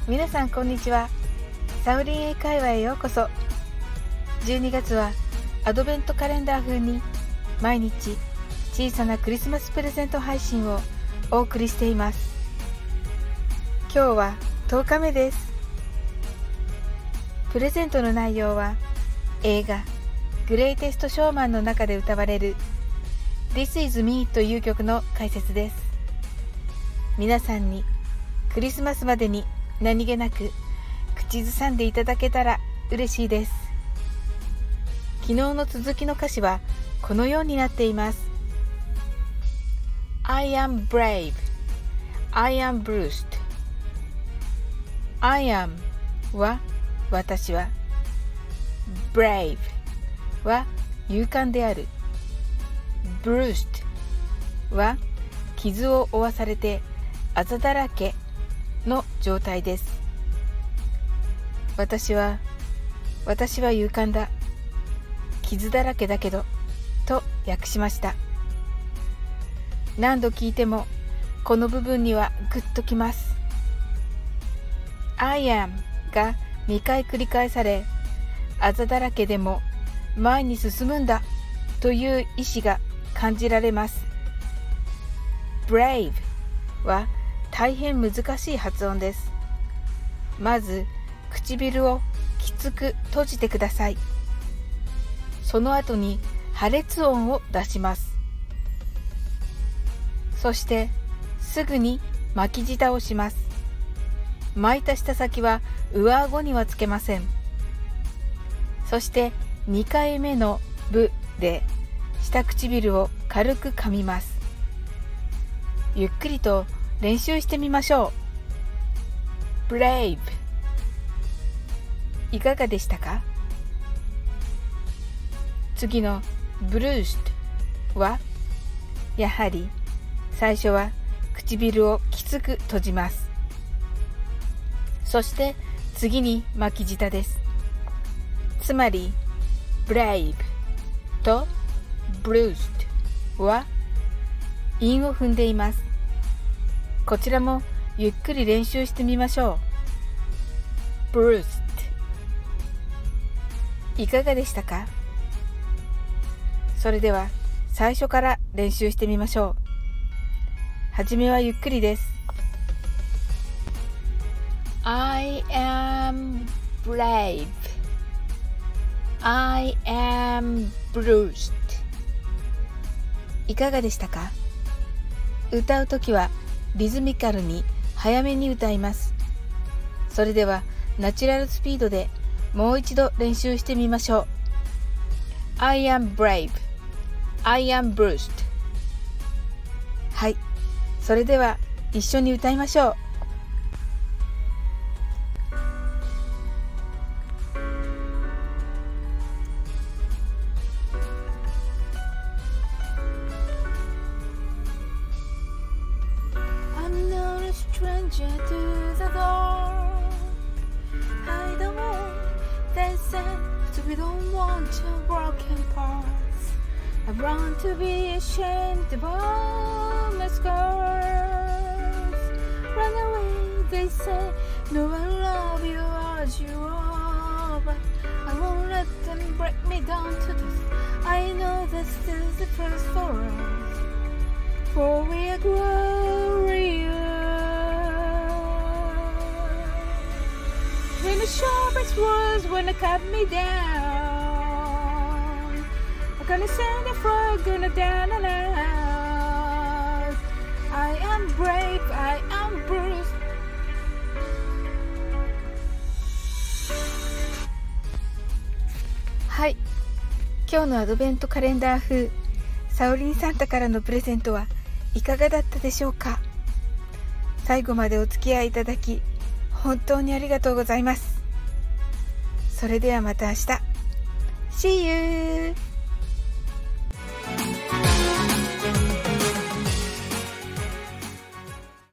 皆さんこんにちは。サウリン英会話へようこそ。12月はアドベントカレンダー風に毎日小さなクリスマスプレゼント配信をお送りしています。今日は10日目です。プレゼントの内容は映画グレイテストショーマンの中で歌われる This is me という曲の解説です。皆さんにクリスマスまでに何気なく口ずさんでいただけたら嬉しいです。昨日の続きの歌詞はこのようになっています。 I am brave, I am bruised。 I am は私は、 brave は勇敢である、 bruised は傷を負わされてあざだらけの状態です。私は勇敢だ、傷だらけだけどと訳しました。何度聞いてもこの部分にはグッときます。 I am が2回繰り返され、あざだらけでも前に進むんだという意志が感じられます。 Brave は大変難しい発音です。まず唇をきつく閉じてください。その後に破裂音を出します。そしてすぐに巻き舌をします。巻いた舌先は上顎にはつけません。そして2回目のブで下唇を軽く噛みます。ゆっくりと練習してみましょう。 Brave いかがでしたか？次の Bruised はやはり最初は唇をきつく閉じます。そして次に巻き舌です。つまり Brave と Bruised は韻を踏んでいます。こちらもゆっくり練習してみましょう。 Bruised いかがでしたか？それでは最初から練習してみましょう。はじめはゆっくりです。 I am brave, I am bruised。 いかがでしたか？歌うときはリズミカルに早めに歌います。それではナチュラルスピードでもう一度練習してみましょう。 I am brave, I am bruised。 はい、それでは一緒に歌いましょう。Stranger to the door, hide away. They said we don't want your broken parts. I want to be ashamed of all my scars. Run away, they say. No, I love you as you are, but I won't let them break me down to dust. I know this is the first for us, for we are glorious. When the sharpest words wanna cut me down, I'm gonna send a frog gonna down and out. I am brave, I am bruised. はい、今日のアドベントカレンダー風サオリンサンタからのプレゼントはいかがだったでしょうか？最後までお付き合いいただき本当にありがとうございます。それではまた明日。See you!